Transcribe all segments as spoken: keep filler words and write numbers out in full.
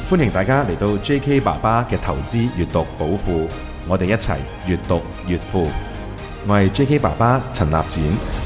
歡迎大家嚟到 J K 爸爸嘅投資閱讀寶庫，我哋一齊閱讀越富。我係 J K 爸爸陳立展，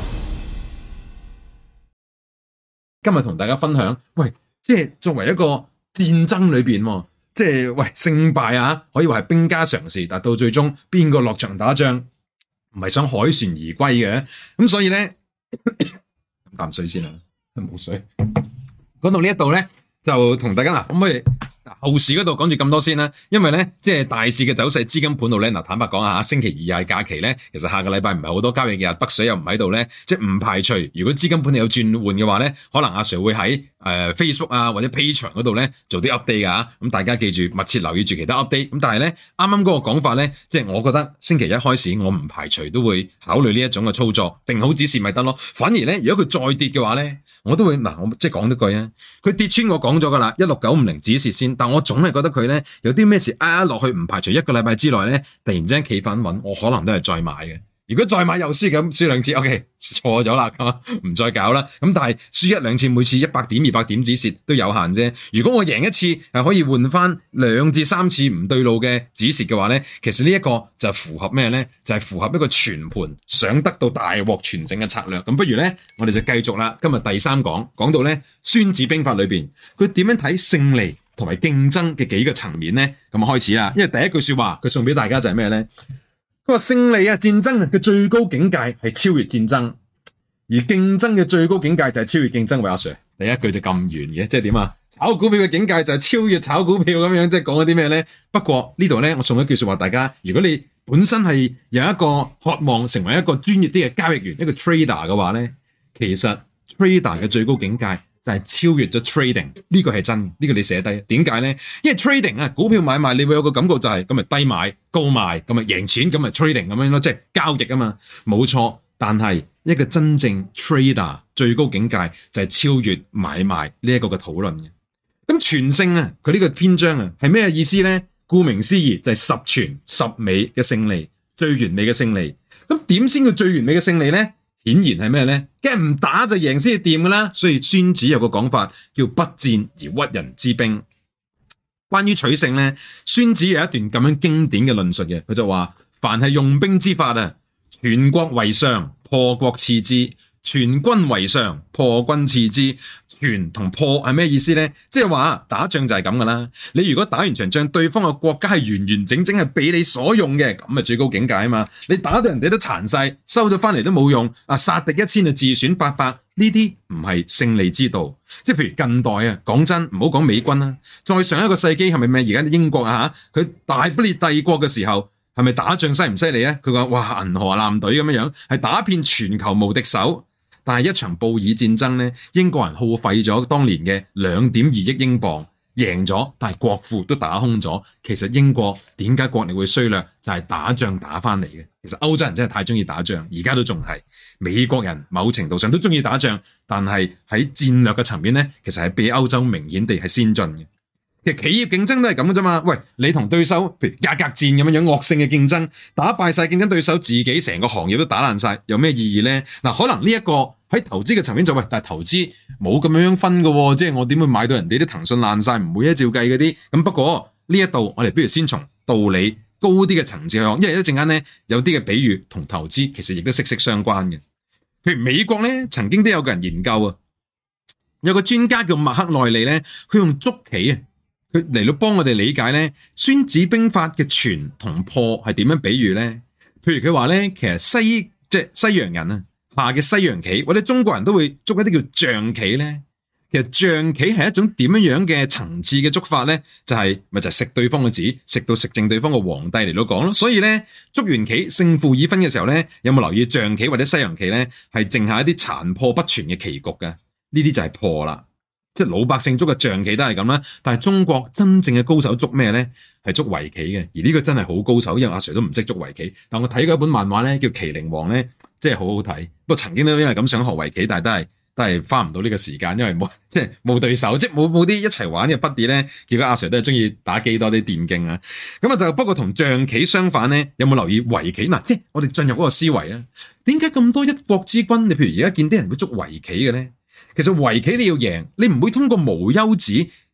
今日同大家分享，喂，即係作為一個戰爭裏邊，即係喂勝敗啊，可以話係兵家常事，但到最終邊個落場打仗，唔係想凱旋而歸嘅，咁所以咧，飲啖水先啦，冇水。講到呢一度咧，就同大家嗱，可唔可以後市嗰度講住咁多先啦？因為咧，即係大市嘅走勢，資金盤度咧，嗱，坦白講下，星期二係假期咧，其實下個禮拜唔係好多交易日，北水又唔喺度咧，即係唔排除如果資金盤有轉換嘅話咧，可能阿 Sir 會喺誒、呃、Facebook 啊或者 Patreon 嗰度咧做啲 update 噶，咁大家記住密切留意住其他 update。咁但係咧，啱啱嗰個講法咧，即係我覺得星期一開始我唔排除都會考慮呢一種嘅操作，定好指示咪得咯。反而咧，如果佢再跌嘅話咧，我都會嗱，我即係講多句啊，佢跌穿我講咗噶啦，一六九五零止蝕先，但我總係覺得佢咧有啲咩事壓落去，唔排除一個禮拜之內咧突然之間企返穩，我可能都係再買嘅。如果再買又輸咁輸兩次 ，OK 錯咗啦，咁唔再搞啦。咁但係輸一兩次，每次一百點、二百點止蝕都有限啫。如果我贏一次係可以換翻兩至三次唔對路嘅止蝕嘅話咧，其實呢一個就符合咩咧？就係、是、符合一個全盤想得到大獲全勝嘅策略。咁不如咧，我哋就繼續啦。今日第三講講到咧《孫子兵法》裏邊，佢點樣睇勝利同埋競爭嘅幾個層面咧？咁開始啦。因為第一句說話佢送俾大家就係咩咧？佢話勝利啊，戰爭啊嘅最高境界係超越戰爭，而競爭嘅最高境界就係超越競爭。喂，阿 Sir，第一句就咁圓嘅，即係點啊？炒股票嘅境界就係超越炒股票咁樣，即係講咗啲咩咧？不過呢度咧，我送一句說話大家，如果你本身係有一個渴望成為一個專業啲嘅交易員，一個 trader 嘅話咧，其實 trader 嘅最高境界就係超越咗 trading， 呢個係真，呢個你寫低。點解咧？因為 trading 啊，股票買賣你會有個感覺就係咁咪低買高賣，咁咪贏錢，咁咪 trading 咁樣咯，即係交易啊嘛，冇錯。但係一個真正 trader 最高境界就係超越買賣呢一個嘅討論嘅。咁全勝啊，佢呢個篇章啊係咩意思咧？顧名思義就係十全十美嘅勝利，最完美嘅勝利。咁點先叫最完美嘅勝利咧？顯然係咩咧？梗係唔打就贏先係掂噶啦。所以孫子有個講法叫不戰而屈人之兵。關於取勝咧，孫子有一段咁樣經典嘅論述嘅，佢就話：凡係用兵之法啊，全國為上，破國次之；全軍為上，破軍次之。全同破係咩意思咧？即係話打仗就係咁噶啦。你如果打完場仗，對方嘅國家係完完整整係俾你所用嘅，咁咪最高境界啊嘛。你打到人哋都殘晒，收咗翻嚟都冇用，啊殺敵一千就自損八百，呢啲唔係勝利之道。即係譬如近代啊，講真唔好講美軍啦，再上一個世紀係咪咩？而家英國啊吓，佢大不列帝國嘅時候係咪打仗犀唔犀利啊？佢話哇銀河艦隊咁樣樣，係打遍全球無敵手。但係一場布爾戰爭咧，英國人耗費咗當年嘅兩點二億英鎊，贏咗，但係國庫都打空咗。其實英國點解國力會衰弱，就係打仗打翻嚟嘅。其實歐洲人真係太中意打仗，而家都仲係。美國人某程度上都中意打仗，但係喺戰略嘅層面咧，其實係比歐洲明顯地係先進嘅。其實企業競爭都係咁嘅啫嘛。喂，你同對手譬如價格戰咁樣樣惡性嘅競爭，打敗晒競爭對手，自己成個行業都打爛晒，有咩意義咧？嗱，可能呢一個喺投資嘅層面就喂，但係投資冇咁樣分嘅，即係我點會買到人哋啲騰訊爛晒，唔會一照計嗰啲。咁不過呢一度我哋不如先從道理高啲嘅層次去講，因為一陣間咧有啲嘅比喻同投資其實亦都息息相關嘅。譬如美國咧，曾經都有個人研究啊，有個專家叫麥克內利咧，佢用捉棋啊。佢嚟到幫我哋理解咧《孫子兵法》嘅全同破係點樣比喻咧？譬如佢話咧，其實西即係西洋人啊下嘅西洋棋，或者中國人都會捉一啲叫象棋咧。其實象棋係一種點樣樣嘅層次嘅捉法咧？就係、是、咪就係食對方嘅子，食到食剩對方嘅皇帝嚟到講咯。所以咧，捉完棋勝負已分嘅時候咧，有冇留意象棋或者西洋棋咧係剩下一啲殘破不全嘅棋局嘅？呢啲就係破啦。即係老百姓捉嘅象棋都係咁啦，但係中國真正嘅高手捉咩咧？係捉圍棋嘅，而呢個真係好高手，因為阿 Sir 都唔識捉圍棋。但我睇過一本漫畫咧，叫《麒麟王》咧，即係好好睇。不過曾經都因為咁想學圍棋，但係都係都係花唔到呢個時間，因為冇即係冇對手，即係冇冇啲一齊玩嘅 buddy 咧。結果阿 Sir 都係中意打機多啲電競啊。咁啊就不過同象棋相反咧，有冇留意圍棋嗱？即係我哋進入嗰個思維啊，點解咁多一國之君？你譬如而家見啲人會捉圍棋嘅咧？其實圍棋你要贏，你唔會通過無休止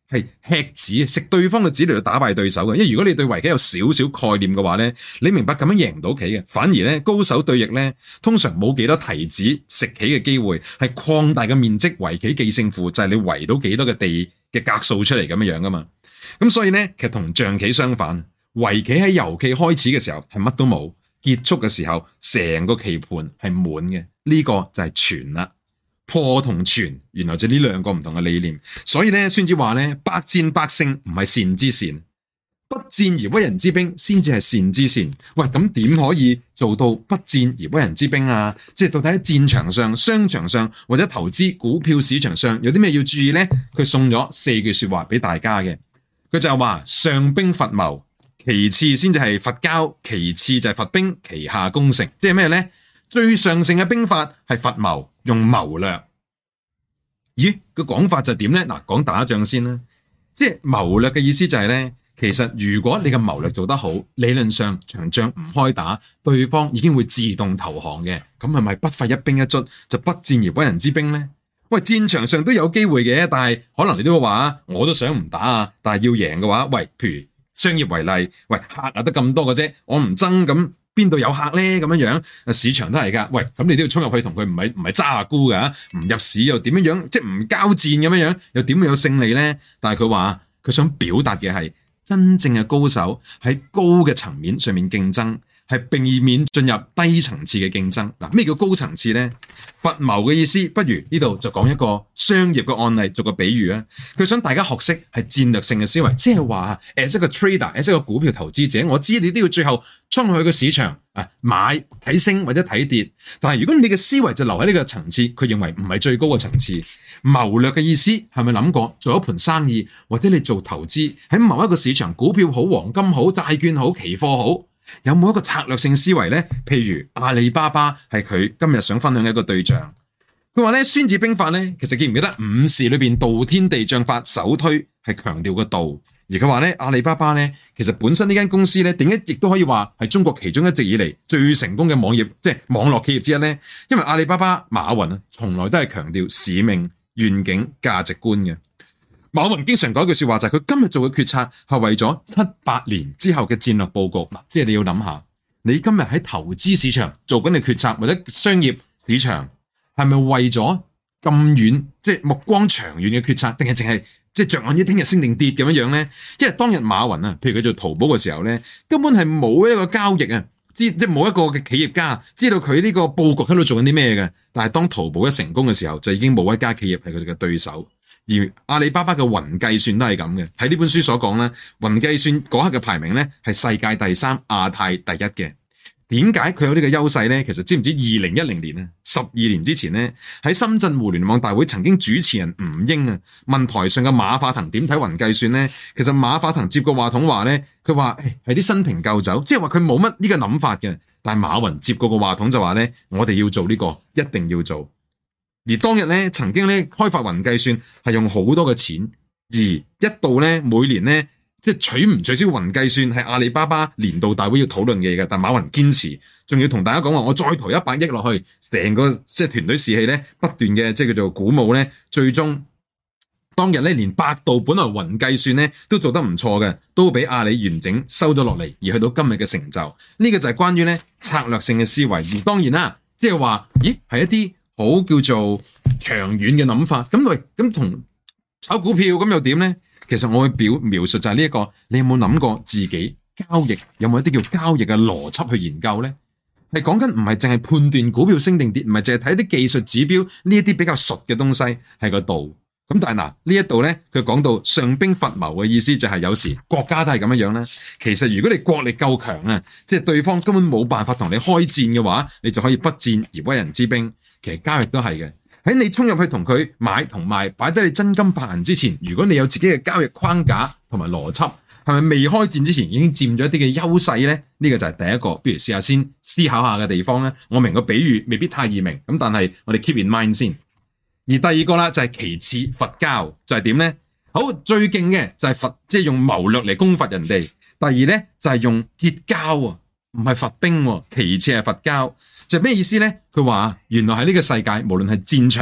係吃子，食對方嘅子嚟到打敗對手嘅。因為如果你對圍棋有少少概念嘅話咧，你明白咁樣贏唔到棋嘅。反而咧，高手對弈咧，通常冇幾多提子食棋嘅機會，係擴大嘅面積圍棋記勝負，就係、是、你圍到幾多嘅地嘅格數出嚟咁樣樣噶嘛。咁所以咧，其實同象棋相反，圍棋喺遊戲開始嘅時候係乜都冇，結束嘅時候成個棋盤係滿嘅。呢、這個就係全啦。破同全，原來就呢兩個唔同嘅理念，所以咧，孫子話咧，百戰百勝唔係善之善，不戰而屈人之兵先至係善之善。喂，咁點可以做到不戰而屈人之兵啊？即係到底喺戰場上、商場上或者投資股票市場上有啲咩要注意咧？佢送咗四句說話俾大家嘅，佢就係話上兵伐謀，其次先至係伐交，其次就係伐兵，其下攻城。即係咩咧？最上乘嘅兵法係伐謀，用謀略。咦，個講法就點咧？嗱，講打仗先啦。即係謀略嘅意思就係咧，其實如果你嘅謀略做得好，理論上場仗唔開打，對方已經會自動投降嘅。咁係咪不費一兵一卒就不戰而屈人之兵咧？喂，戰場上都有機會嘅，但係可能你都會話我都想唔打啊，但係要贏嘅話，喂，譬如商業為例，喂，客啊得咁多嘅啫，我唔爭咁。邊度有客咧？咁樣樣，市場都係噶。喂，咁你都要衝入去同佢，唔係唔係揸下沽噶，唔入市又點樣樣？即係唔交戰咁樣樣，又點會有勝利咧？但係佢話佢想表達嘅係真正嘅高手喺高嘅層面上面競爭，係避免進入低層次嘅競爭。嗱，咩叫高層次咧？伐謀嘅意思，不如呢度就講一個商業嘅案例，做個比喻啊。佢想大家學識係戰略性嘅思維，即係話誒，一個 trader，一個股票投資者，我知你都要最後衝去個市場啊買睇升或者睇跌。但係如果你嘅思維就留喺呢個層次，佢認為唔係最高嘅層次。謀略嘅意思係咪諗過做一盤生意，或者你做投資喺某一個市場，股票好、黃金好、債券好、期貨好？有冇一個策略性思維呢？譬如阿里巴巴係佢今日想分享嘅一個對象。佢話咧，孫子兵法咧，其實記唔記得五事裏邊道天地將法首推係強調個道，而佢話咧，阿里巴巴咧，其實本身呢間公司咧，點解亦都可以話係中國其中一直以嚟最成功嘅網頁，即係網絡企業之一咧？因為阿里巴巴馬雲啊，從來都係強調使命、願景、價值觀嘅。馬雲經常講一句說話，就係佢今日做嘅決策係為咗七八年之後嘅戰略布局。嗱，即係你要諗下，你今日喺投資市場做緊嘅決策，或者商業市場係咪為咗咁遠，即係目光長遠嘅決策，定係淨係即係着眼於聽日升定跌咁樣樣咧？因為當日馬雲啊，譬如佢做淘寶嘅時候咧，根本係冇一個交易啊，知即係冇一個嘅企業家知道佢呢個布局喺度做緊啲咩嘅。但係當淘寶一成功嘅時候，就已經冇一家企業係佢哋嘅對手。而阿里巴巴嘅雲計算都係咁嘅，喺呢本書所講咧，雲計算嗰刻嘅排名咧係世界第三、亞太第一嘅。點解佢有呢個優勢咧？其實知唔知二零一零年啊，十二年之前咧，喺深圳互聯網大會曾經主持人吳英啊問台上嘅馬化騰點睇雲計算咧？其實馬化騰接過話筒話咧，佢話誒係啲新瓶舊酒，即係話佢冇乜呢個諗法嘅。但係馬雲接過個話筒就話咧，我哋要做呢個，一定要做。而當日咧，曾經咧開發雲計算係用好多嘅錢，而一度咧每年咧即係取唔取消雲計算係阿里巴巴年度大會要討論嘅嘢嘅。但馬雲堅持，仲要同大家講話，我再投一百億落去，成個即係團隊士氣咧不斷嘅即係叫做鼓舞咧。最終當日咧連百度本來雲計算咧都做得唔錯嘅，都俾阿里完整收咗落嚟，而去到今日嘅成就。呢、這個就係關於咧策略性嘅思維。而當然啦，即係話，咦係一啲好叫做長遠嘅諗法，咁喂，咁同炒股票咁又點咧？其實我會表描述就係呢一個，你有冇諗過自己交易有冇一啲叫交易嘅邏輯去研究咧？係講緊唔係淨係判斷股票升定跌，唔係淨係睇啲技術指標呢一啲比較熟嘅東西係個道。咁但係嗱呢一度咧，佢講到上兵伐謀嘅意思就係有時國家都係咁樣樣啦。其實如果你國力夠強啊，即係對方根本冇辦法同你開戰嘅話，你就可以不戰而屈人之兵。其實交易都係嘅，喺你衝入去同佢買同賣，擺低你真金白銀之前，如果你有自己嘅交易框架同埋邏輯，係咪未開戰之前已經佔咗一啲嘅優勢咧？呢、這個就係第一個，不如試下先思考下嘅地方咧。我明個比喻未必太易明，咁但係我哋 keep in mind 先。而第二個啦就係其次伐交，就係點咧？好，最勁嘅就係伐，即係用謀略嚟攻伐人哋。第二咧就係用結交啊，唔係伐兵喎。其次係伐交。就咩意思咧？佢話原來喺呢個世界，無論係戰場、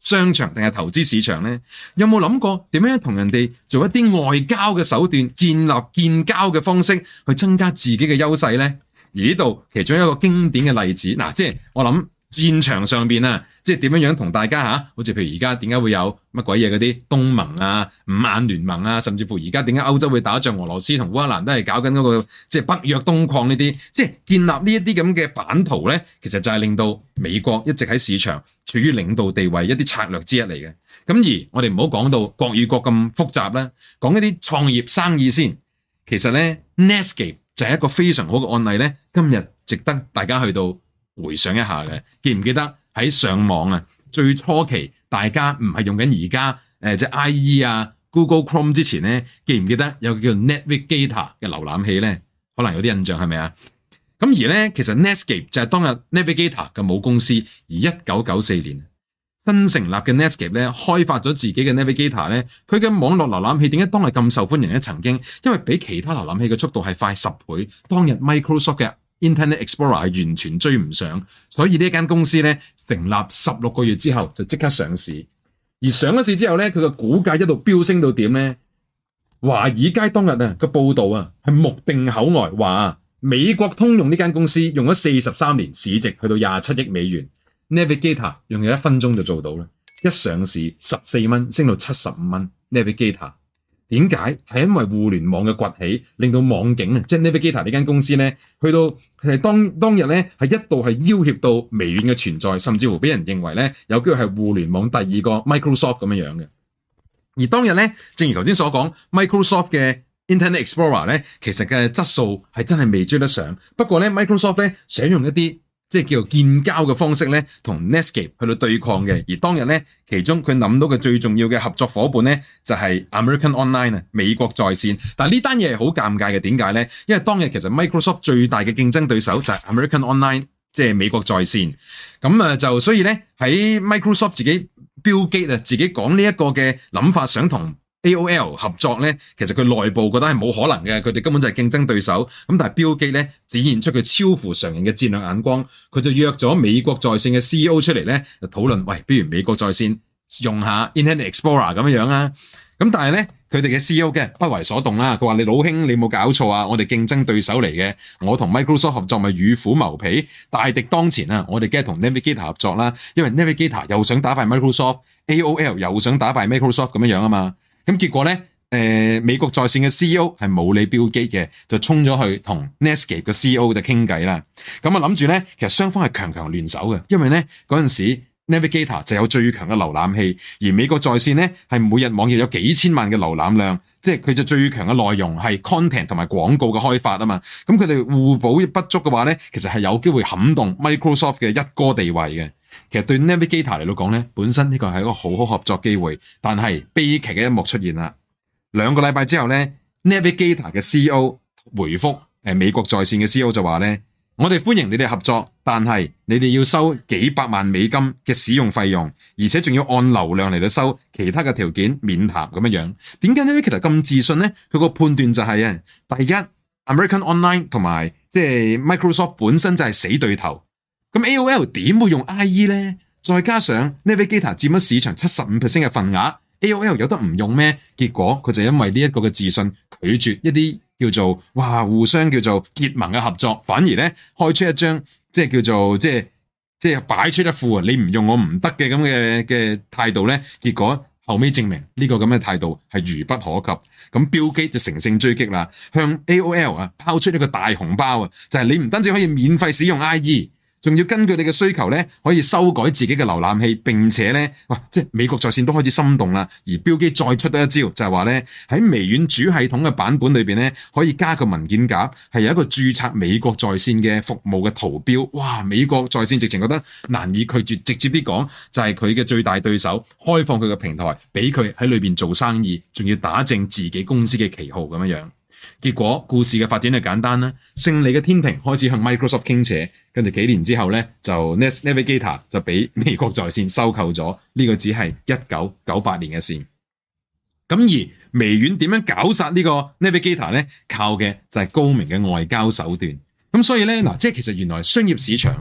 商場定係投資市場呢？有冇諗過點樣同人哋做一啲外交嘅手段，建立建交嘅方式去增加自己嘅優勢呢？而呢度其中一個經典嘅例子，嗱，即係我諗戰場上邊啊，即係點樣樣同大家吓，好似譬如而家點解會有乜鬼嘢嗰啲東盟啊、五眼聯盟啊，甚至乎而家點解歐洲會打仗，俄羅斯同烏克蘭都係搞緊嗰個即係北約東擴呢啲，即係建立呢一啲咁嘅版圖咧，其實就係令到美國一直喺市場處於領導地位一啲策略之一嚟嘅。咁而我哋唔好講到國與國咁複雜啦，講一啲創業生意先。其實咧 Netscape 就係一個非常好嘅案例咧，今日值得大家去到回想一下嘅。記唔記得喺上網啊，最初期大家唔係用緊而家誒即係 I E 啊 Google Chrome 之前咧，記唔記得有個叫 Navigator 嘅瀏覽器咧？可能有啲印象係咪啊？咁而咧，其實 Netscape 就係當日 Navigator 嘅母公司，而一九九四年新成立嘅 Netscape 咧，開發咗自己嘅 Navigator 咧，佢嘅網絡瀏覽器點解當日咁受歡迎咧？曾經因為比其他瀏覽器嘅速度係快十倍，當日 Microsoft 嘅 Internet Explorer 係完全追唔上，所以呢間公司咧成立十六個月之後就即刻上市，而上咗市之後咧，佢嘅股價一路飆升到點咧？華爾街當日啊個報道啊係目定口呆，話美國通用呢間公司用咗四十三年，市值去到廿七億美元。Navigator 用咗一分鐘就做到啦，一上市十四蚊升到七十五蚊。Navigator 點解？係因為互聯網嘅崛起，令到網景啊，即係 Navigator 呢間公司咧，去到係當當日咧係一度係要挾到微軟嘅存在，甚至乎俾人認為咧有機會係互聯網第二個 Microsoft 咁樣樣嘅。而當日咧，正如頭先所講 ，Microsoft 嘅 Internet Explorer 咧，其實嘅質素係真係未追得上。不過咧 ，Microsoft 咧想用一啲即係叫做建交嘅方式咧，同 Netscape 去到對抗嘅。而當日咧，其中佢諗到嘅最重要嘅合作夥伴咧，就係 American Online 啊，美國在線。但係呢單嘢係好尷尬嘅，點解咧？因為當日其實 Microsoft 最大嘅競爭對手就係 American Online，即係美國在線。咁啊，就所以咧喺 Microsoft 自己 Bill Gates 啊，自己講呢一個嘅諗法，想同 A O L 合作咧，其實佢內部覺得係冇可能嘅，佢哋根本就係競爭對手。咁但係 Bill Gates咧展現出佢超乎常人嘅戰略眼光，佢就約咗美國在線嘅 C E O 出嚟咧，就討論，喂，不如美國在線用下 Internet Explorer 咁樣樣啊。咁但係咧，佢哋嘅 C E O 嘅不為所動啦。佢話：你老兄，你冇搞錯啊！我哋競爭對手嚟嘅，我同 Microsoft 合作咪與虎謀皮，大敵當前啊！我哋梗係同 Navigator 合作啦，因為 Navigator 又想打敗 Microsoft，A O L 又想打敗 Microsoft 咁樣樣啊嘛。咁結果咧，誒、呃、美國在線嘅 C E O 係冇理標機嘅，就衝咗去同 Netscape 嘅 C E O 就傾偈啦。咁啊諗住咧，其實雙方係強強聯手嘅，因為咧嗰陣時 Navigator 就有最強嘅瀏覽器，而美國在線咧係每日網頁有幾千萬嘅瀏覽量，即係佢就最強嘅內容係 content 同埋廣告嘅開發啊嘛。咁佢哋互補不足嘅話咧，其實係有機會撼動 Microsoft 嘅一哥地位嘅。其實對 Navigator 嚟到講咧，本身呢個係一個好好合作機會，但係悲劇嘅一幕出現啦。兩個禮拜之後咧 ，Navigator 嘅 C E O 回覆誒美國在線嘅 C E O 就話咧：我哋歡迎你哋合作，但係你哋要收幾百萬美金嘅使用費用，而且仲要按流量嚟到收，其他嘅條件免談咁樣樣。點解 Navigator 咁自信咧？佢個判斷就係啊，第一 American Online 同埋即係 Microsoft 本身就係死對頭。咁 A O L 點會用 I E 咧？再加上 Navigator 佔咗市場七十五 percent 嘅份額 ，A O L 有得唔用咩？結果佢就因為呢一個嘅自信，拒絕一啲叫做哇互相叫做結盟嘅合作，反而咧開出一張即係叫做即係即係擺出一副啊你唔用我唔得嘅咁嘅嘅態度咧。結果後尾證明呢個咁嘅態度係愚不可及。咁 Bill Gates就乘勝追擊啦，向 A O L 啊拋出一個大紅包啊，就係、是、你唔單止可以免費使用 I E。仲要根據你嘅需求咧，可以修改自己嘅瀏覽器，並且咧，哇！即係美國在線都開始心動啦。而標機再出多一招，就係話咧，喺微軟主系統嘅版本裏邊咧，可以加個文件夾，係有一個註冊美國在線嘅服務嘅圖標。哇！美國在線直情覺得難以拒絕，直接啲講就係佢嘅最大對手，開放佢嘅平台俾佢喺裏邊做生意，仲要打正自己公司嘅旗號咁樣樣。結果故事嘅發展係簡單啦，勝利嘅天平開始向 Microsoft 傾斜，跟住幾年之後咧，就 Navigator 就俾美國在線收購咗，呢個只係一九九八年嘅事。咁而微軟點樣搞殺呢個 Navigator 咧？靠嘅就係高明嘅外交手段。咁所以咧嗱，即係其實原來商業市場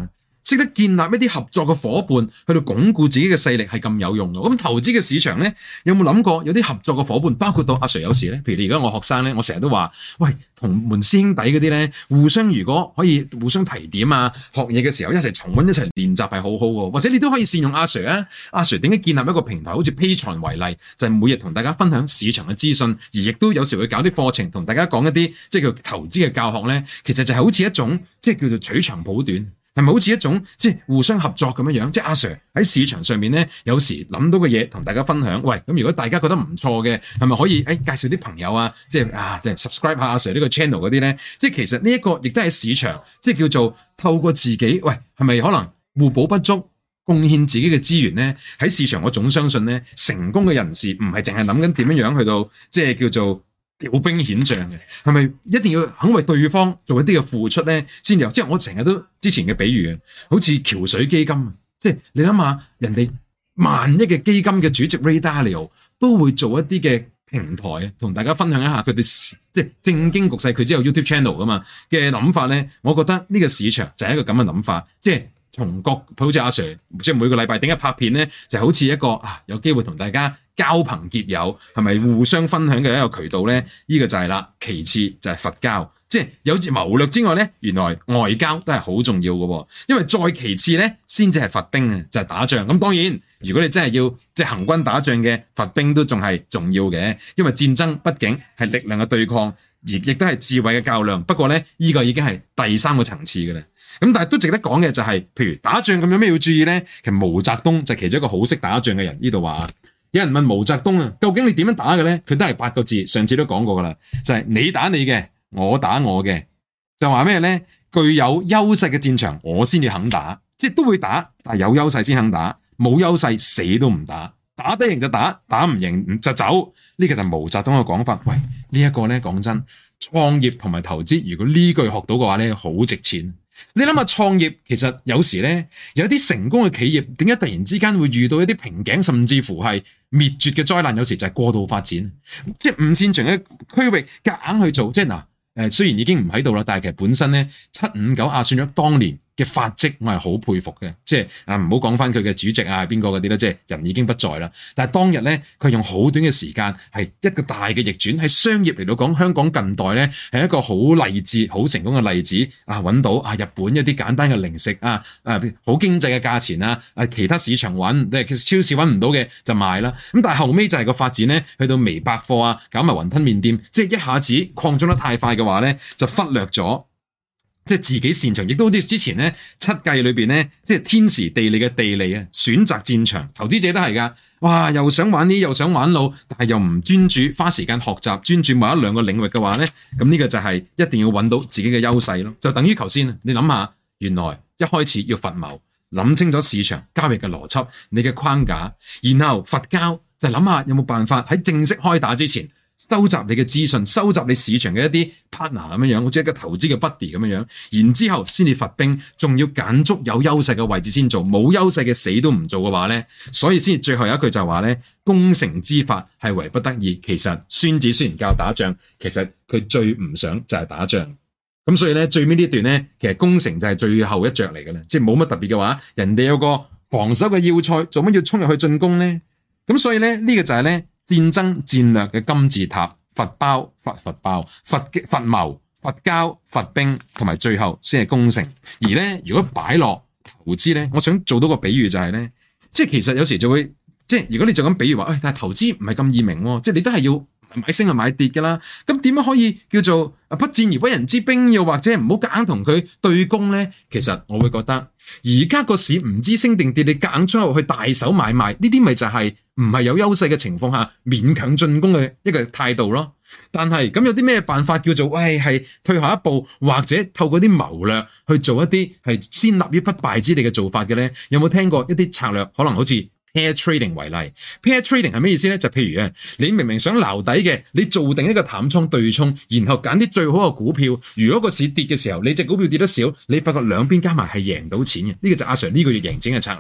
識得建立一啲合作嘅夥伴，去到鞏固自己嘅勢力係咁有用嘅。咁投資嘅市場咧，有冇諗過有啲合作嘅夥伴，包括到阿 Sir 有時咧，譬如你而家我學生咧，我成日都話，喂，同門師兄弟嗰啲咧，互相如果可以互相提點啊，學嘢嘅時候一齊重溫一齊練習係好好嘅，或者你都可以善用阿 Sir 啊。阿 Sir 點解建立一個平台，好似 Patreon 為例，就係、是、每日同大家分享市場嘅資訊，而亦都有時會搞啲課程，同大家講一啲即係叫投資嘅教學咧。其實就係好似一種即係叫做取長補短，係咪好似一種即係互相合作咁樣樣？即係阿 Sir 喺市場上面咧，有時諗到嘅嘢同大家分享。喂，咁如果大家覺得唔錯嘅，係咪可以誒、哎、介紹啲朋友啊？即係啊，即係 subscribe 下阿 Sir 呢個 channel 嗰啲咧？即係其實呢一個亦都係市場，即係叫做透過自己，喂，係咪可能互補不足？貢獻自己嘅資源咧，喺市場我總相信咧，成功嘅人士唔係淨係諗緊點樣樣去到，即係叫做調兵遣將嘅，係咪一定要肯為對方做一啲嘅付出咧，先有？即係我成日都之前嘅比喻啊，好似橋水基金，即係你諗下，人哋萬億嘅基金嘅主席 Ray Dalio 都會做一啲嘅平台，同大家分享一下佢哋即係正經局勢，佢只有 YouTube channel 噶嘛嘅諗法咧，我覺得呢個市場就係一個咁嘅諗法，即係。從各好似阿 Sir，即係每個禮拜點解拍片咧，就好似一個啊有機會同大家交朋結友，係咪互相分享嘅一個渠道咧？呢、這個就係啦。其次就係佛交，即係有住謀略之外咧，原來外交都係好重要嘅。因為再其次咧，先至係佛兵啊，就係、是、打仗。咁當然，如果你真係要即係行軍打仗嘅，佛兵都仲係重要嘅，因為戰爭畢竟係力量嘅對抗，而亦都係智慧嘅較量。不過咧，呢、這個已經係第三個層次嘅啦。咁但係都值得講嘅就係、是，譬如打仗咁有咩要注意咧？其實毛澤東就係其中一個好識打仗嘅人。呢度話有人問毛澤東啊，究竟你點樣打嘅咧？佢都係八個字，上次都講過噶啦，就係、是、你打你嘅，我打我嘅。就話咩咧？具有優勢嘅戰場，我先至肯打，即係都會打，但係有優勢先肯打，冇優勢死都唔打。打得贏就打，打唔贏就走。呢、這個就係毛澤東嘅講法。喂，這個、呢一個咧講真，創業同埋投資，如果呢句學到嘅話咧，好值錢。你諗下創業，其實有時咧，有啲成功嘅企業，點解突然之間會遇到一啲瓶頸，甚至乎係滅絕嘅災難？有時就係過度發展，即係唔擅長嘅區域，夾硬去做。即係嗱，誒，雖然已經唔喺度啦，但係其實本身咧，七五九亞算咗當年嘅發跡，我係好佩服嘅。即係啊，唔好講翻佢嘅主席啊，邊個嗰啲咧，即係人已經不在啦。但係當日咧，佢用好短嘅時間，係一個大嘅逆轉。喺商業嚟到講，香港近代咧係一個好勵志、好成功嘅例子啊！揾到啊，日本一啲簡單嘅零食啊，啊好經濟嘅價錢啊，啊其他市場揾，即係超市揾唔到嘅就賣啦。咁但係後尾就係個發展咧，去到微百貨啊，搞埋雲吞麵店，即係一下子擴張得太快嘅話咧，就忽略咗。即係自己擅長，亦都好似之前咧七計裏邊咧，即係天時地利嘅地利啊，選擇戰場，投資者都係噶。哇，又想玩呢，又想玩路，但係又唔專注，花時間學習，專注某一兩個領域嘅話咧，咁呢個就係一定要揾到自己嘅優勢咯。就等於頭先，你諗下，原來一開始要佛謀，諗清楚市場交易嘅邏輯，你嘅框架，然後佛交就諗下有冇辦法喺正式開打之前，收集你嘅資訊，收集你市場嘅一啲 partner 咁樣樣，好似一個投資嘅 buddy 咁樣樣，然之後先至佛兵，仲要揀足有優勢嘅位置先做，冇優勢嘅死都唔做嘅話咧，所以先至最後有一句就話咧，攻城之法係為不得已。其實孫子雖然教打仗，其實佢最唔想就係打仗。咁所以咧，最尾呢段咧，其實攻城就係最後一着嚟嘅啦，即係冇乜特別嘅話，人哋有個防守嘅要塞，做乜要衝入去進攻咧？咁所以咧，呢個就係咧。戰爭戰略嘅金字塔，佛包、佛佛包、佛佛謀、佛交、佛兵，同埋最後先係攻城。而咧，如果擺落投資咧，我想做到個比喻就係咧，即係其實有時就會，即係如果你就咁比喻話，誒、哎，但係投資唔係咁易明喎，即係你都係要買升就買跌㗎啦。咁點樣可以叫做不戰而屈人之兵，又或者唔好夾硬同佢對攻咧？其實我會覺得，而家個市唔知升定跌，你夾硬出去大手買賣，呢啲咪就係、是。唔係有優勢嘅情況下勉強進攻嘅一個態度咯。但係咁有啲咩辦法叫做喂係退後一步，或者透過啲謀略去做一啲係先立於不敗之地嘅做法嘅咧？有冇聽過一啲策略？可能好似 pair trading 為例。pair trading 係咩意思咧？就譬如啊，你明明想撈底嘅，你做定一個淡倉對沖，然後揀啲最好嘅股票。如果個市跌嘅時候，你隻股票跌得少，你發覺兩邊加埋係贏到錢嘅。呢個就阿 Sir 呢個月贏錢嘅策略。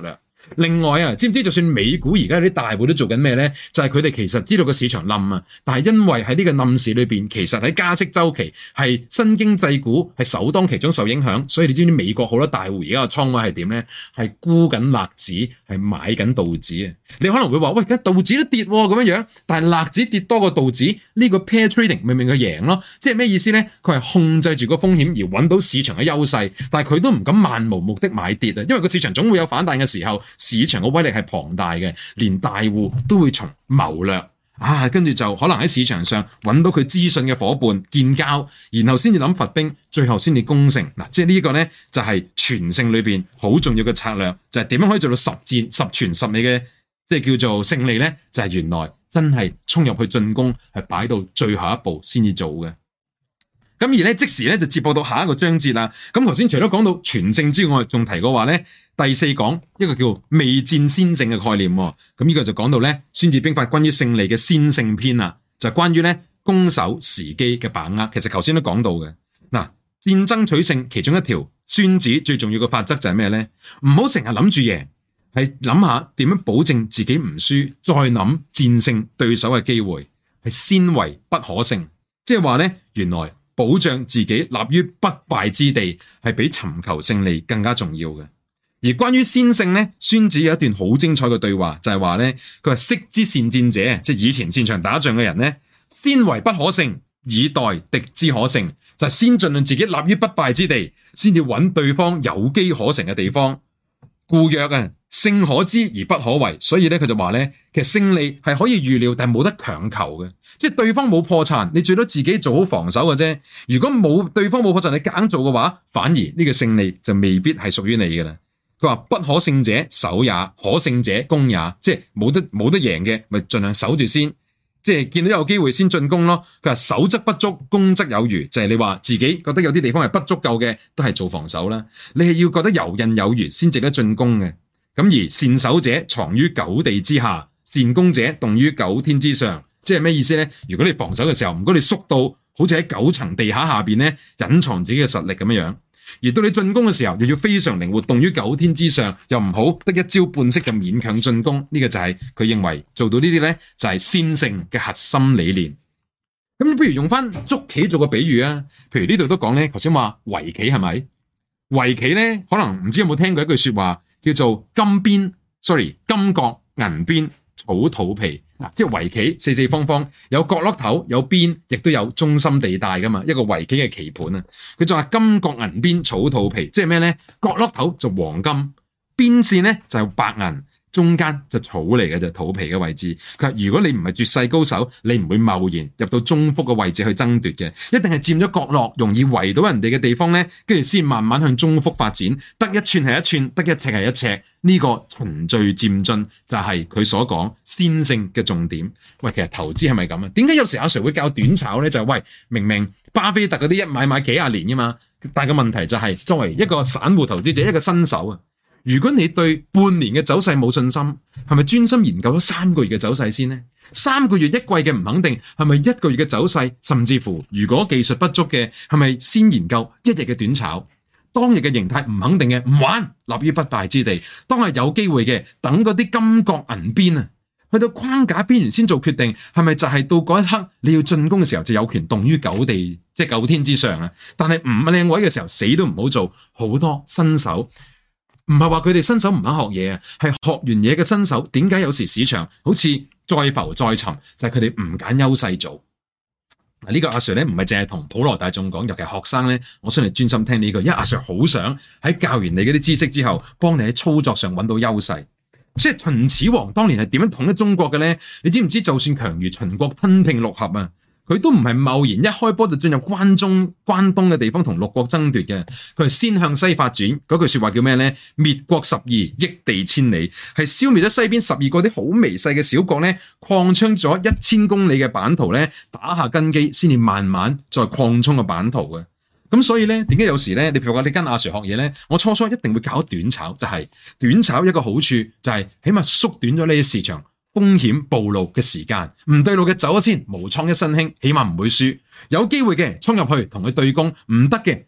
另外啊，知唔知就算美股而家有啲大戶都做緊咩咧？就係佢哋其實知道個市場冧啊，但係因為喺呢個冧市裏邊，其實喺加息週期係新經濟股係首當其衝受影響，所以你知唔知美國好多大戶而家個倉位係點咧？係沽緊納指，係買緊道指啊！你可能會話喂，而家道指都跌咁樣樣，但係納指跌多過道指，呢個 pair trading 明明佢贏咯，即係咩意思咧？佢係控制住個風險而揾到市場嘅優勢，但係佢都唔敢漫無目的買跌啊，因為個市場總會有反彈嘅時候。市場嘅威力係龐大嘅，連大戶都會從謀略啊，跟住就可能喺市場上揾到佢資訊嘅夥伴建交，然後先至諗罰兵，最後先至攻城嗱。即係呢個咧就係全勝裏邊好重要嘅策略，就係點樣可以做到十戰十全十美嘅，即係叫做勝利咧？就係原來真係衝入去進攻，係擺到最後一步先至做嘅。咁而咧即時咧就接播到下一個章節啦。咁頭先除咗講到全勝之外，仲提過話咧第四講一個叫未戰先勝嘅概念。咁呢個就講到咧《孫子兵法》關於勝利嘅先勝篇啦，就係關於咧攻守時機嘅把握。其實頭先都講到嘅嗱，戰爭取勝其中一條孫子最重要嘅法則就係咩咧？唔好成日諗住贏，係諗下點樣保證自己唔輸，再諗戰勝對手嘅機會，係先為不可勝。即係話咧，原來保障自己立於不敗之地，係比尋求勝利更加重要嘅。而關於先勝咧，孫子有一段好精彩嘅對話，就係話咧，佢話昔之善戰者，即係以前擅長打仗嘅人咧，先為不可勝，以待敵之可勝，就係先盡量自己立於不敗之地，先至揾對方有機可乘嘅地方。故曰啊，勝可知而不可為，所以咧佢就話咧，其實勝利係可以預料，但係冇得強求嘅。即係對方冇破綻，你最多自己做好防守嘅啫。如果冇對方冇破綻，你夾硬做嘅話，反而呢個勝利就未必係屬於你嘅啦。佢話不可勝者守也，可勝者攻也，即係冇得冇得贏嘅，咪盡量守住先。即係見到有機會先進攻咯。佢話守則不足，攻則有餘，就係你話自己覺得有啲地方係不足夠嘅，都係做防守啦。你係要覺得游刃有餘先值得進攻嘅。咁而善守者藏於九地之下，善攻者動於九天之上。即係咩意思咧？如果你防守嘅時候，唔該你縮到好似喺九層地下下邊咧，隱藏自己嘅實力咁樣樣。而到你進攻嘅時候，又要非常靈活，動於九天之上，又唔好得一招半式就勉強進攻。呢、這個就係佢認為做到呢啲咧，就係先勝嘅核心理念。咁不如用翻捉棋做個比喻啊。譬如呢度都講咧，頭先話圍棋係咪？圍棋咧，可能唔知有冇聽過一句說話，叫做金邊，sorry， 金角銀邊草土皮。嗱，即係圍棋四四方方，有角落頭，有邊，亦都有中心地帶噶嘛，一個圍棋嘅棋盤啊。佢就話金角銀邊草土皮，即係咩咧？角落頭就黃金，邊線咧就係白銀，中間就草嚟嘅就土皮嘅位置。佢話如果你唔係絕世高手，你唔會貿然入到中腹嘅位置去爭奪嘅，一定係佔咗角落，容易圍到人哋嘅地方咧，跟住先慢慢向中腹發展，得一寸係一寸，得一尺係一尺。呢個循序漸進就係佢所講先勝嘅重點。喂，其實投資係咪咁啊？點解有時阿 Sir 會教短炒咧？就係、是、喂，明明巴菲特嗰啲一買買幾廿年噶嘛，但係個問題就係、是、作為一個散戶投資者，一個新手啊，如果你對半年嘅走勢冇信心，係咪專心研究咗三個月嘅走勢先呢？三個月一季嘅唔肯定，係咪一個月嘅走勢？甚至乎如果技術不足嘅，係咪先研究一日嘅短炒？當日嘅形態唔肯定嘅，唔玩，立於不敗之地。當係有機會嘅，等嗰啲金角銀邊啊，去到框架邊緣先做決定，係咪就係到嗰一刻你要進攻嘅時候就有權動於九地，即係九天之上啊？但係唔靚位嘅時候，死都唔好做。好多新手唔係話佢哋新手唔肯學嘢啊，係學完嘢嘅新手，點解有時市場好似再浮再沉，就係佢哋唔揀優勢做。嗱，呢個阿 Sir 咧唔係淨係同普羅大眾講，尤其係學生咧，我想你專心聽呢個，因為阿 Sir 好想喺教完你嗰啲知識之後，幫你喺操作上揾到優勢。即係秦始皇當年係點樣統一中國嘅咧？你知唔知？就算強如秦國吞併六合啊，佢都唔係貿然一開波就進入關中、關東嘅地方同六國爭奪嘅，佢係先向西發展。嗰句說話叫咩咧？滅國十二，益地千里，係消滅咗西邊十二個啲好微細嘅小國咧，擴張咗一千公里嘅版圖咧，打下根基，先至慢慢再擴充個版圖嘅。咁所以咧，點解有時咧，你譬如話你跟阿 Sir 學嘢咧，我初初一定會搞短炒，就係、是、短炒一個好處就係起碼縮短咗你嘅市場風險暴露嘅時間，唔對路嘅走咗先，無創一身輕，起碼唔會輸。有機會嘅衝入去同佢對攻，唔得嘅，誒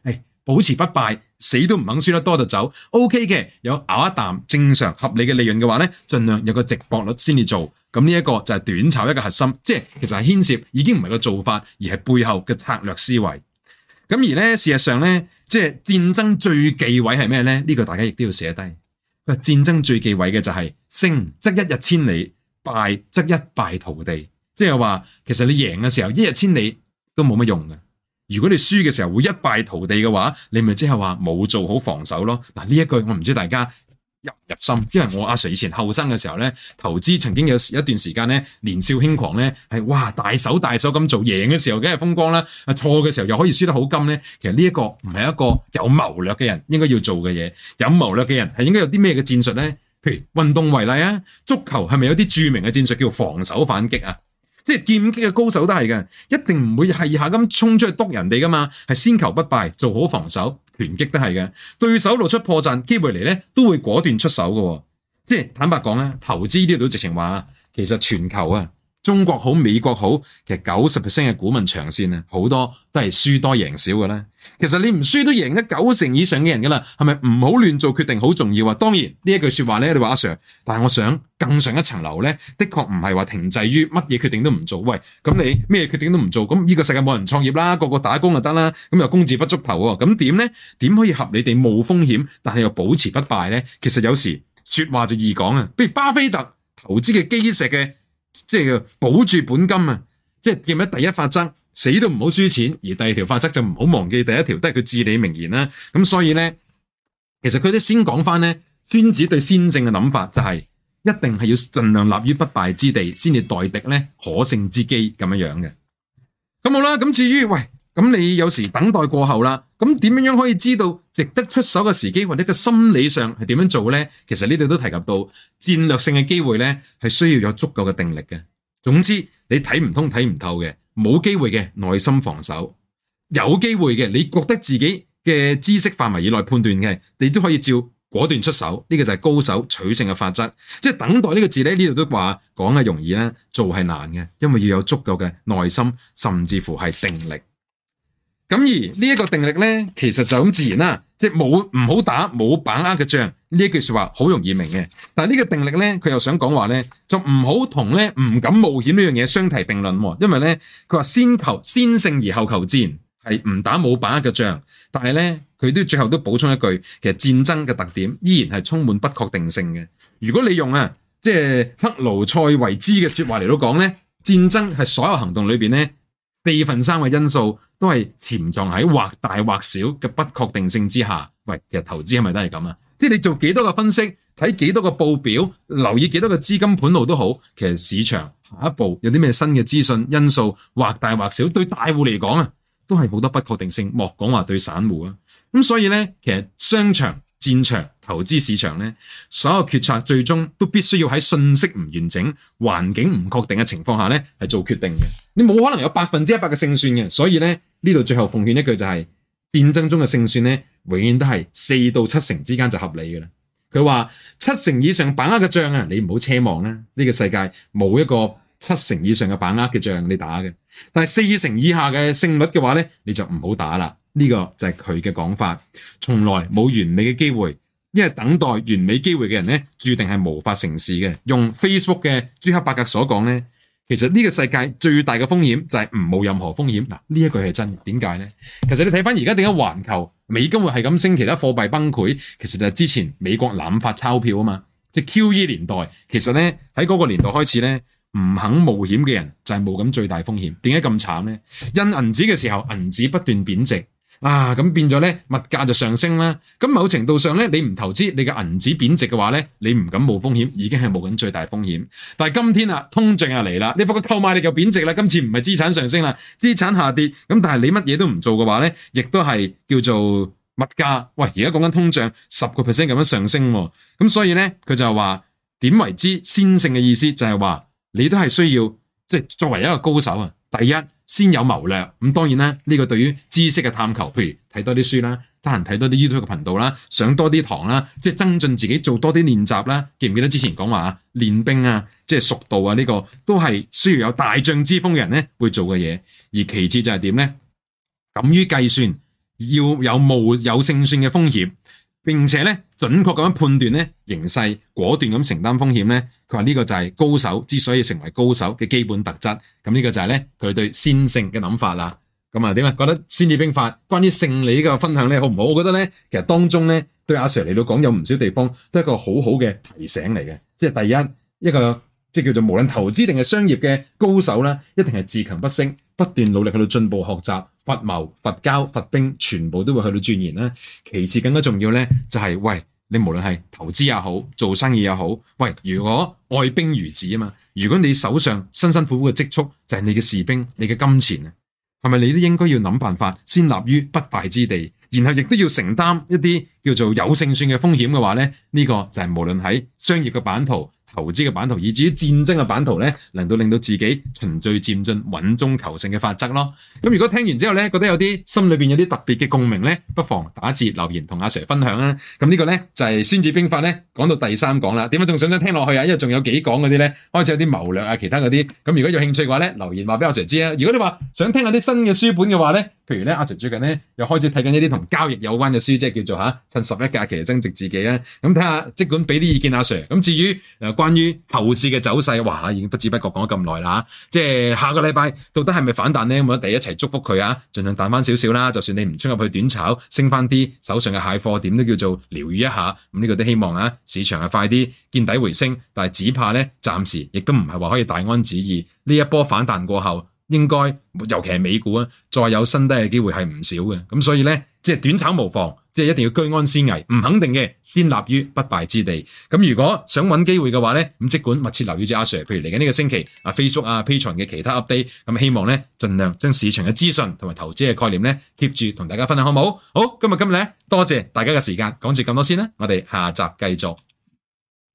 保持不敗，死都唔肯輸得多就走 ，OK 嘅，有咬一啖正常合理嘅利潤嘅話咧，盡量有個值博率先至做。咁呢一個就係短炒一個核心，即係其實係牽涉已經唔係個做法，而係背後嘅策略思維。咁而咧，事實上咧，即係戰爭最忌諱係咩咧？呢個大家亦都要寫低。佢話戰爭最忌諱嘅就係勝則一日千里，敗則一敗塗地。即係話，其實你贏嘅時候一日千里都冇乜用嘅。如果你輸嘅時候會一敗塗地嘅話，你咪即係話冇做好防守咯。嗱，呢一句我唔知大家入入心，因為我阿 Sir 以前後生嘅時候咧，投資曾經有一段時間咧，年少輕狂咧，係哇大手大手咁做，贏嘅時候梗係風光啦，啊錯嘅時候又可以輸得好金咧。其實呢一個唔係一個有謀略嘅人應該要做嘅嘢，有謀略嘅人係應該有啲咩嘅戰術咧？譬如運動為例啊，足球係咪有啲著名嘅戰術叫防守反擊啊？即係劍擊嘅高手都係嘅，一定唔會係下咁衝出去督人哋噶嘛，係先求不敗，做好防守。拳擊都係嘅，對手露出破綻機會嚟咧，都會果斷出手嘅。即係坦白講咧，投資呢度直情話，其實全球啊，中國好、美國好，其實九十 percent 嘅股民長線啊，好多都係輸多贏少嘅啦。其實你唔輸都贏得九成以上嘅人噶啦，係咪唔好亂做決定好重要啊？當然呢一句說話咧，你話阿 Sir，但係我想更上一層樓咧，的確唔係話停滯於乜嘢決定都唔做。喂，咁你咩決定都唔做，咁呢個世界冇人創業啦，個個打工就得啦，咁又工字不足頭喎，咁點咧？點可以合理地冒風險，但係又保持不敗咧？其實有時說話就易講啊，比如巴菲特投資嘅基石嘅，即係保住本金啊，即係記唔記得第一法則？死都唔好輸錢，而第二條法則就唔好忘記第一條，都係佢至理名言啦。咁所以咧，其實佢都先講翻咧，孫子對先勝嘅諗法就係、是、一定係要盡量立於不敗之地，先至待敵咧可勝之機咁樣樣嘅。咁好啦，咁至於喂，咁你有時等待過後啦，咁點樣樣可以知道值得出手嘅時機，或者個心理上係點樣做咧？其實呢度都提及到戰略性嘅機會咧，係需要有足夠嘅定力嘅。總之，你睇唔通睇唔透嘅。冇機會嘅耐心防守，有機會嘅你覺得自己嘅知識範圍以內判斷嘅，你都可以照果斷出手。呢個就係高手取勝嘅法則。即係等待呢個字咧，呢度都話講係容易啦，做係難嘅，因為要有足夠嘅耐心，甚至乎係定力。咁而呢一個定力咧，其實就咁自然啦，即係冇唔好打冇把握嘅仗。呢一句說話好容易明嘅，但係呢個定力咧，佢又想講話咧，就唔好同咧唔敢冒險呢樣嘢相提並論。因為咧，佢話先求先勝而後求戰，係唔打冇把握嘅仗。但係咧，佢都最後都補充一句，其實戰爭嘅特點依然係充滿不確定性嘅。如果你用啊，即係克勞塞維茲嘅說話嚟到講咧，戰爭係所有行動裏邊咧，四分三嘅因素都係潛藏喺或大或小嘅不確定性之下。喂，其實投資係咪都係咁啊？即係你做幾多個分析，睇幾多個報表，留意幾多個資金盤路都好，其實市場下一步有啲咩新嘅資訊因素，或大或小，對大戶嚟講啊，都係好多不確定性，莫講話對散戶啊。咁所以咧，其實商場、戰場、投資市場咧，所有決策最終都必須要喺信息唔完整、環境唔確定嘅情況下咧，係做決定嘅。你冇可能有百分之一百嘅勝算嘅。所以咧，呢度最後奉勸一句就係、是。戰爭中嘅勝算咧，永遠都係四到七成之間就合理嘅啦。佢話七成以上把握嘅仗啊，你唔好奢望啦。呢個世界冇一個七成以上嘅把握嘅仗你打嘅。但係四成以下嘅勝率嘅話咧，你就唔好打啦。呢個就係佢嘅講法。從來冇完美嘅機會，因為等待完美機會嘅人咧，注定係無法成事嘅。用 Facebook 嘅朱克伯格所講咧。其實呢個世界最大嘅風險就係唔冇任何風險。嗱，呢一句係真，點解呢？其實你睇翻而家點解環球美金會係咁升，其他貨幣崩潰，其實就係之前美國濫發鈔票啊嘛，即係 Q E 年代。其實呢，喺嗰個年代開始呢，唔肯冒險嘅人就係冒緊最大風險。點解咁慘呢？印銀紙嘅時候，銀紙不斷貶值。啊，咁變咗咧，物價就上升啦。咁某程度上咧，你唔投資，你嘅銀紙貶值嘅話咧，你唔敢冒風險，已經係冒緊最大風險。但係今天啊，通脹又嚟啦，你發覺購買力又貶值啦。今次唔係資產上升啦，資產下跌。咁但係你乜嘢都唔做嘅話咧，亦都係叫做物價。喂，而家講緊通脹十個 percent 咁樣上升，咁所以咧，佢就話點為之先勝嘅意思就係話，你都係需要即係作為一個高手啊。第一，先有謀略，咁當然啦，呢、這個對於知識嘅探求，譬如睇多啲書啦，得閒睇多啲 YouTube 嘅頻道啦，上多啲堂啦，即係增進自己，做多啲練習啦。記唔記得之前講話啊，練兵啊，即係熟道啊，呢、這個都係需要有大將之風嘅人咧會做嘅嘢。而其次就係點咧？敢於計算， 要有冒有勝算嘅風險，並且咧準確咁樣判斷咧形勢，果斷咁承擔風險咧。佢話呢個就係高手之所以成為高手嘅基本特質。咁呢個就係咧佢對先勝嘅諗法啦。咁啊點啊？覺得《孫子兵法》關於勝利呢個分享咧好唔好？我覺得咧其實當中咧對阿 Sir 嚟到講有唔少地方都係一個好好嘅提醒嚟嘅。即係第一一個即係叫做無論投資定係商業嘅高手啦，一定係自強不息，不斷努力去到進步學習。伐謀、伐交、伐兵，全部都會去到鑽研啦。其次更加重要咧，就係、是、喂你無論係投資也好，做生意也好，喂如果愛兵如子啊嘛，如果你手上辛辛苦苦嘅積蓄就係你嘅士兵、你嘅金錢啊，係咪你都應該要諗辦法先立於不敗之地，然後亦都要承擔一啲叫做有勝算嘅風險嘅話咧，呢、這個就係無論喺商業嘅版圖、投資嘅版圖，以至於戰爭嘅版圖咧，能夠令到自己循序漸進、穩中求勝嘅法則咯。咁如果聽完之後咧，覺得有啲心裏邊有啲特別嘅共鳴咧，不妨打字留言同阿 Sir 分享啦。咁呢個咧就係、是《孫子兵法》咧講到第三講啦。點解仲想唔想聽落去啊？因為仲有幾講嗰啲咧，開始有啲謀略啊，其他嗰啲。咁如果有興趣嘅話咧，留言話俾阿 Sir 知啊。如果你話想聽下啲新嘅書本嘅話咧，譬如咧阿 Sir 最近咧又開始睇緊一啲同交易有關嘅書，即係叫做吓趁十一假期增值自己啊。咁睇下即管俾啲意見阿 Sir。咁至於誒關於後市嘅走勢，哇，已經不知不覺講咗咁耐啦，即係下個禮拜到底係咪反彈咧？咁我哋一齊祝福佢啊，盡量彈翻少少啦。就算你唔衝入去短炒，升翻啲手上嘅蟹貨，點都叫做療愈一下。咁呢個都希望啊，市場係快啲見底回升，但係只怕咧，暫時亦都唔係話可以大安旨意。呢一波反彈過後，應該尤其係美股啊，再有新低嘅機會係唔少嘅。咁所以咧，即係短炒無妨。即係一定要居安思危，唔肯定嘅先立於不敗之地。咁如果想揾機會嘅話咧，咁即管密切留意住阿 Sir，譬如嚟緊呢個星期啊 Facebook 啊 Patreon 嘅其他 update，咁希望咧盡量將市場嘅資訊同埋投資嘅概念咧 keep 住同大家分享，好唔好？好，今日今日咧多謝大家嘅時間，講住咁多先啦，我哋下集繼續。